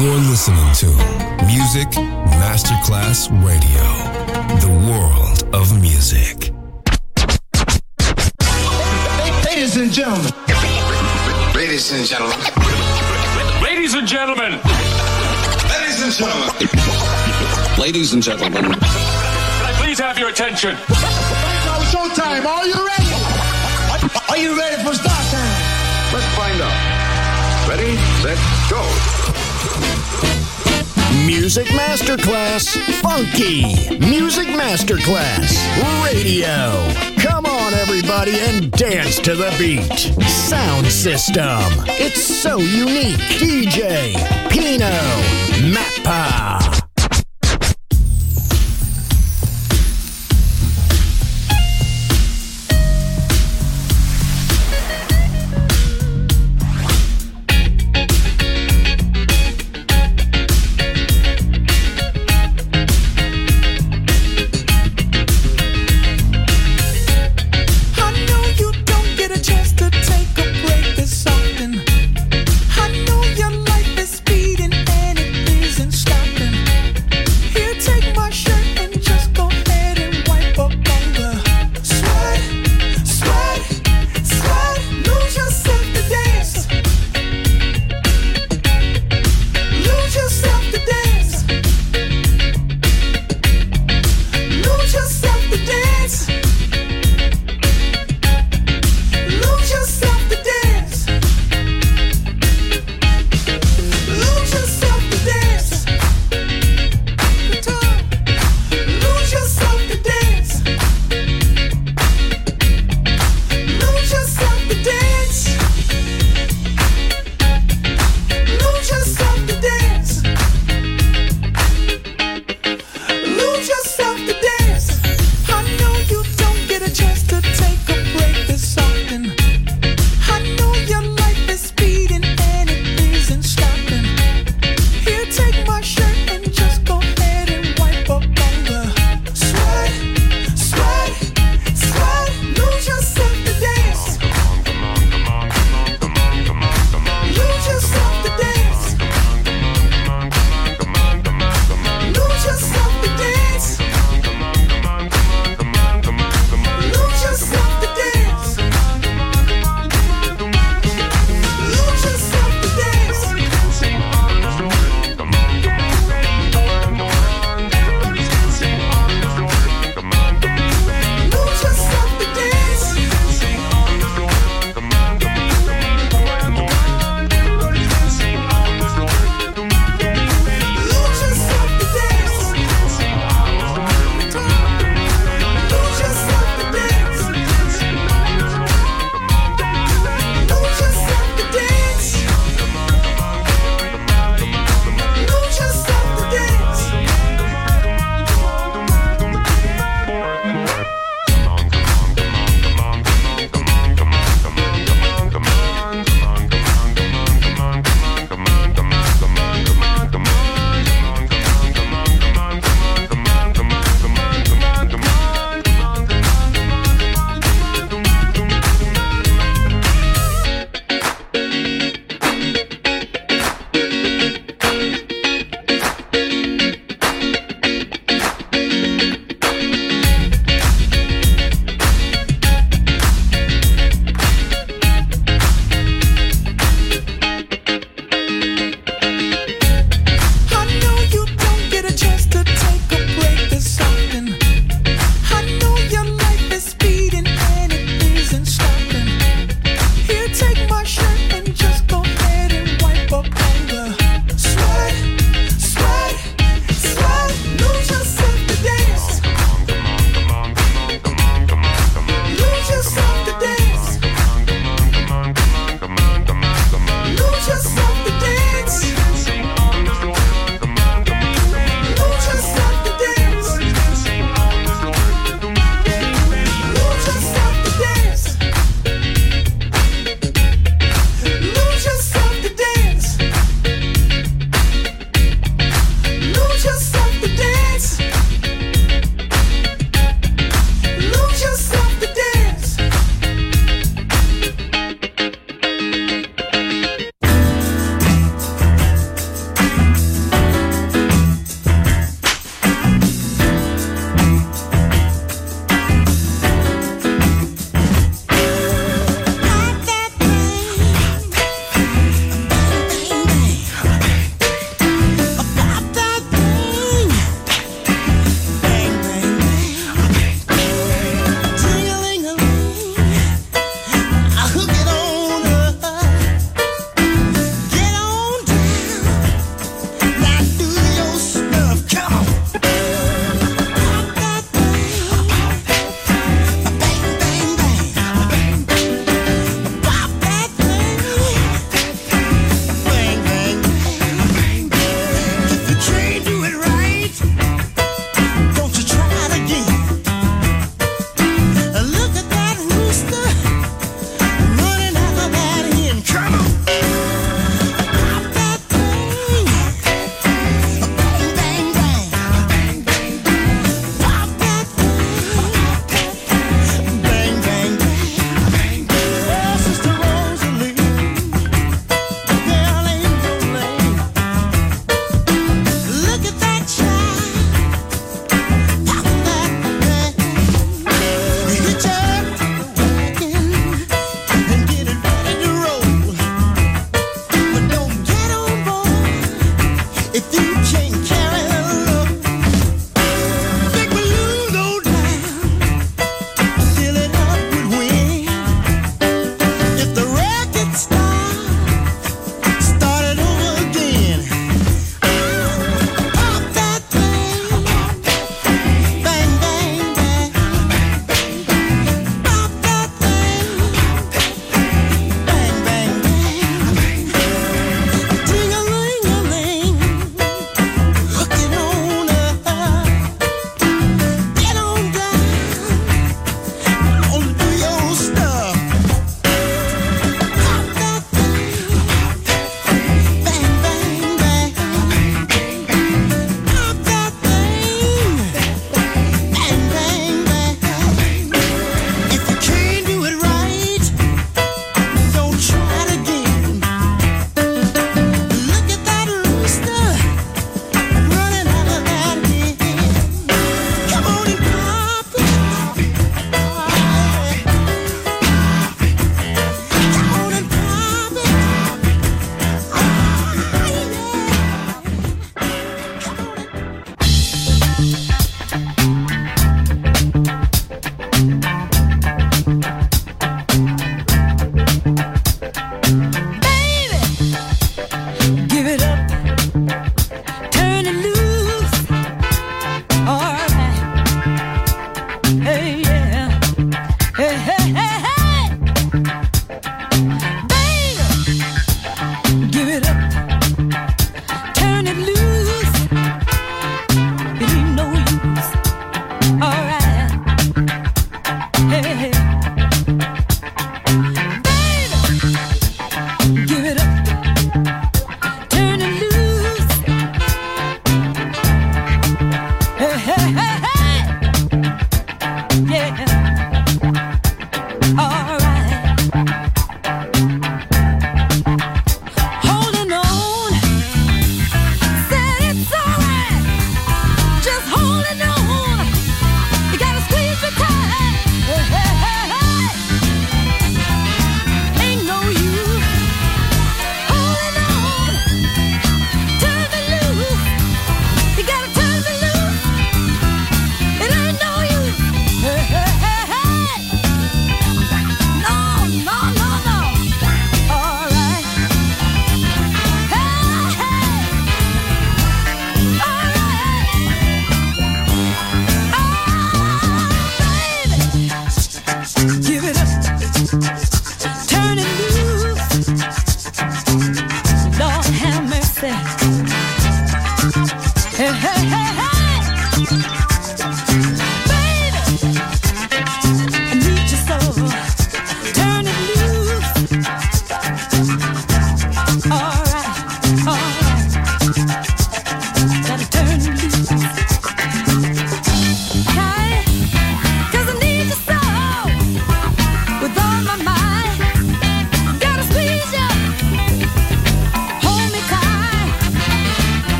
You're listening to Music Masterclass Radio, the world of music. Ladies and gentlemen. Ladies and gentlemen. Ladies and gentlemen. Ladies and gentlemen. Ladies and gentlemen. Can I please have your attention? Now it's showtime. Are you ready? Are you ready for start time? Let's find out. Ready, set, go. Music Masterclass Funky. Music Masterclass Radio. Come on, everybody, and dance to the beat. Sound system. It's so unique. DJ Pino Mappa. I know your life is speeding and it isn't stopping.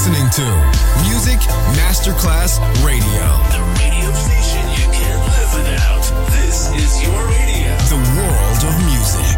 listening to Music Masterclass Radio. The radio station you can't live without. This is your radio. The world of music.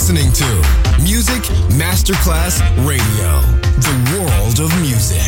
listening to Music Masterclass Radio, the world of music.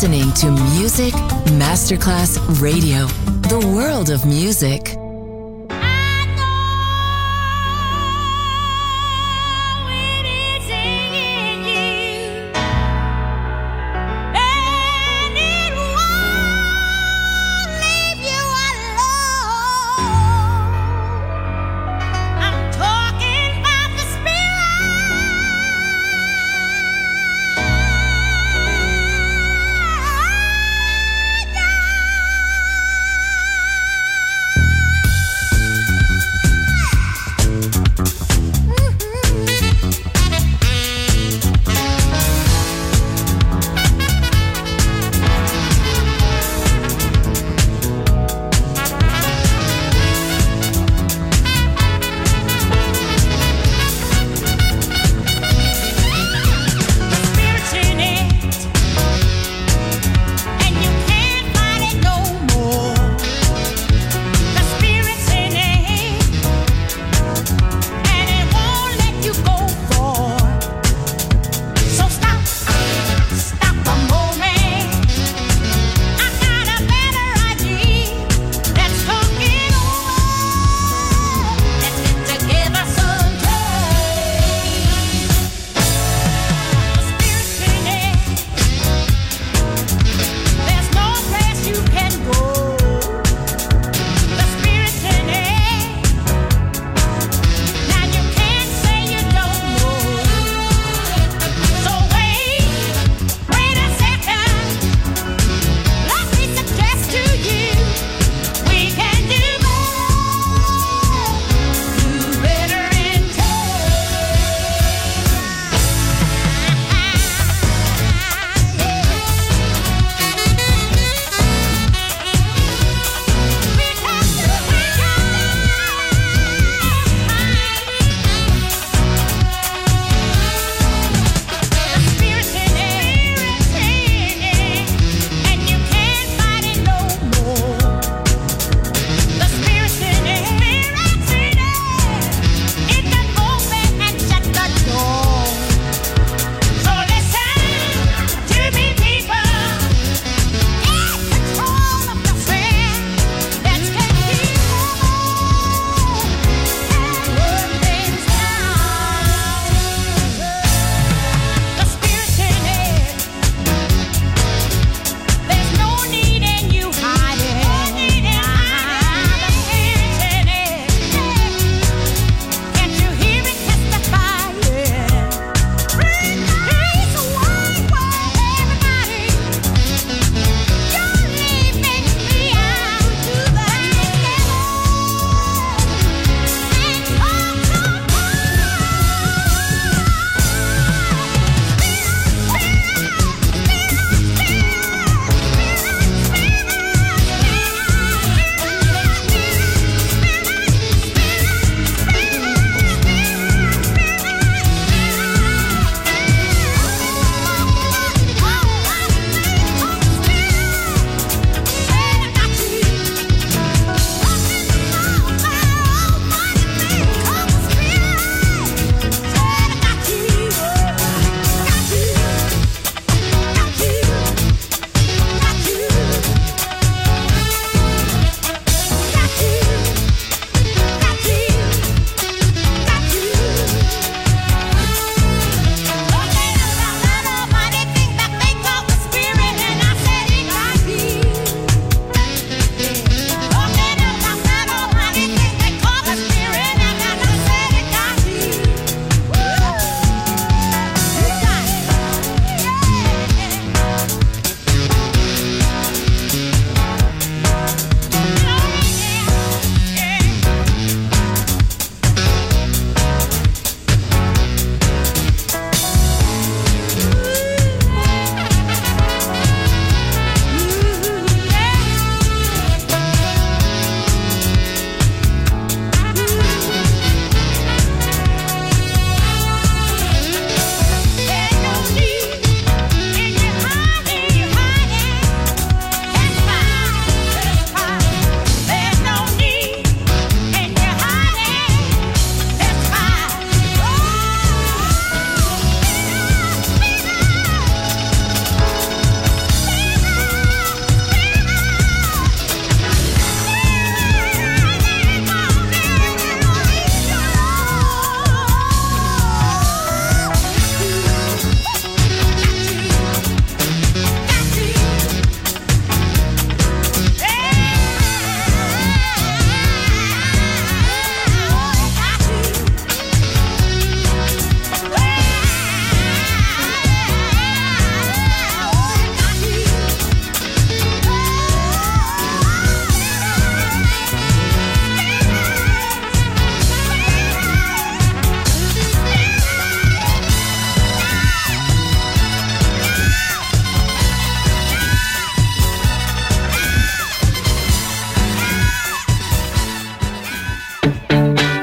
listening to Music Masterclass Radio, the world of music.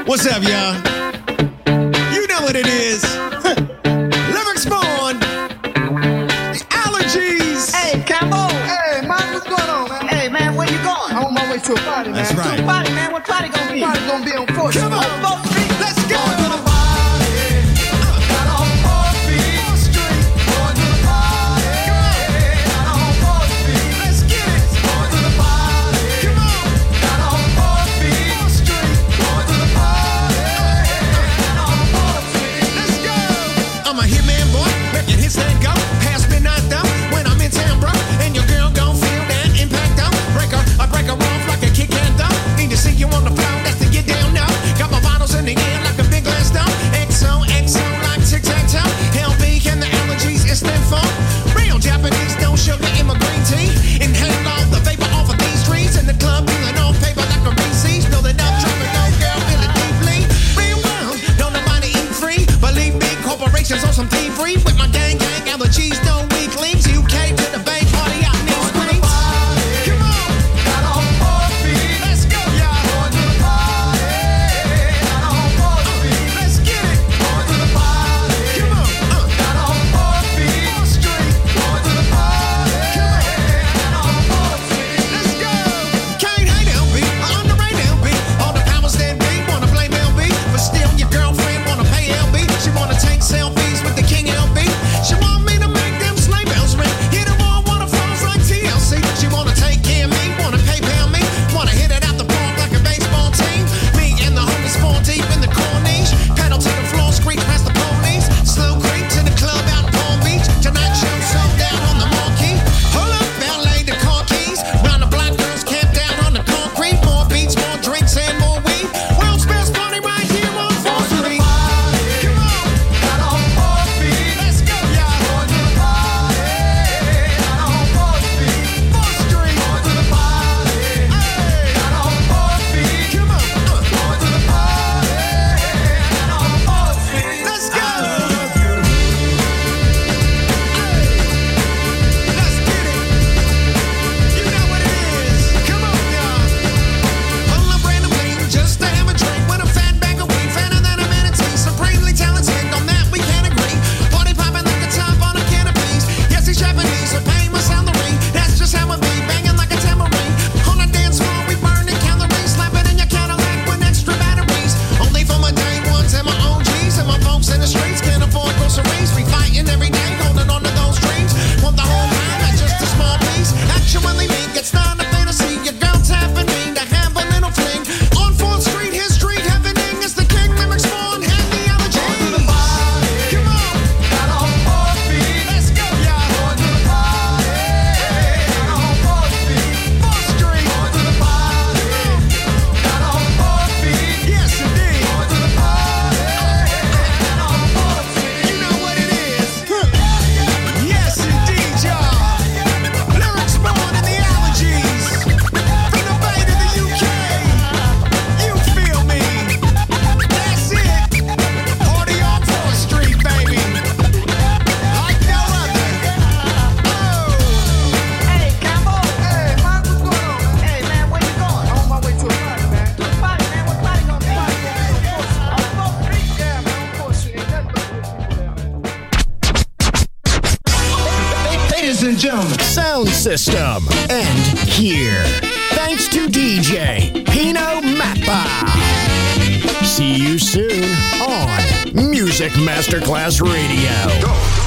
What's up, y'all? You know what it is. Lyrics Born. The Allergies. Hey, Cambo. Hey, man, what's going on, man? Hey, man, where you going? I'm on my way to a party, man. That's right. To a party, man. What party gonna be? Party gonna be on 4th Street. Come on. On 4th Street. Let's go. Going to the party. Got on 4th Street. Going to the party. Got on 4th Street. Let's get it. Going to the party. Come on. Got on 4th Street. Going to the party. Got on 4th Street. Let's go. I'm a hitman boy, making hits that go. Pass midnight though, when I'm in town, bro. And your girl gon' feel that impact though. I break her off like a kick and though. Need to see you on the floor, that's to get down now. Got my bottles in the air like a big glass down. XO, like tic-tac-toe. LB, can the allergies is them for? Real Japanese, no sugar in my green tea. Inhale all the vapor off of these trees. In the club, peeling off paper like a Reese's. Know that I'm dropping no girl, feel it deeply. Real world, don't nobody eat free. Believe me, corporations on some thievery. With my gang, allergies, no weaklings. UK to the Bay, party out in these screens. Come on. Got on 4th Street. Let's go, y'all. Going to the party. Got on 4th Street. Let's get it. Going to the party. Come on. Got on 4th Street. Going to the party. Got on 4th Street. Let's go. Can't hate LB, underrate LB. All the powers that be wanna blame LB, but still your girlfriend wanna pay LB. She wanna take selfies with the king LB. She want me to make them sleigh bells ring. Hit them all waterfalls like TLC. She wanna take care of me, wanna PayPal me, wanna hit it out the park like a baseball team. Me and the homies fall deep in the corniche. Pedal to the floor, screech past the police. Slow creep to the club out in Palm Beach. Tonight show sold down on the marquee. Pull up, valet the car keys. Round the black girls camped down on the concrete. More beats, more drinks, and more weed. World's best party right here on 4th Street. Come on. Got on 4th Street. Let's go, y'all. Going to the party. Got on 4th Street. 4th Street. Going to the party. Hey. Got on 4th Street. Come on. Going to the party. Got on 4th Street. Let's go. Let's get it. You know what it is. Come on, y'all. Pull up randomly just to have a drink with a fat bag of weed, fatter than a manatee. Supremely talented, on that we can't agree. Party popping like a top on a canopies. Yes, he's Japanese, so pay my salary. That's just how it be, banging like a tambourine. On the dance floor, we burning calories, slapping in your Cadillac with extra batteries. Only for my day ones and my OGs and my folks in the streets can't afford groceries. We fighting every day, holding on to those dreams. Want the whole pie, not just a small piece. Actually, me gets not a fantasy. Your girl tapping me to have a little fling. On 4th Street, history happening. It's the King Lyrics Born and the allergies. Come on. Got on 4th Street. Let's go, y'all. Going to the party. Got on 4th Street. 4th Street. Going to the party. Got on 4th Street. Yes, indeed. Going to the party. Got on 4th Street. You know what it is. Yes, indeed, y'all. Lyrics Born and the allergies. From the Bay to the UK. You feel me? That's it. Party on 4th Street, baby. Like no other. Oh. Hey, Cambo. Hey, man, what's going on, man? Hey, man, where you going? I'm on my way to a party, man. To a party, man? What party gonna be? On 4th Street? Yeah, man, on 4th Street. Ain't nothing but rich people there, man. Ladies and gentlemen, sound system. And here, thanks to DJ Pino Mappa. See you soon on Music Masterclass Radio. Go.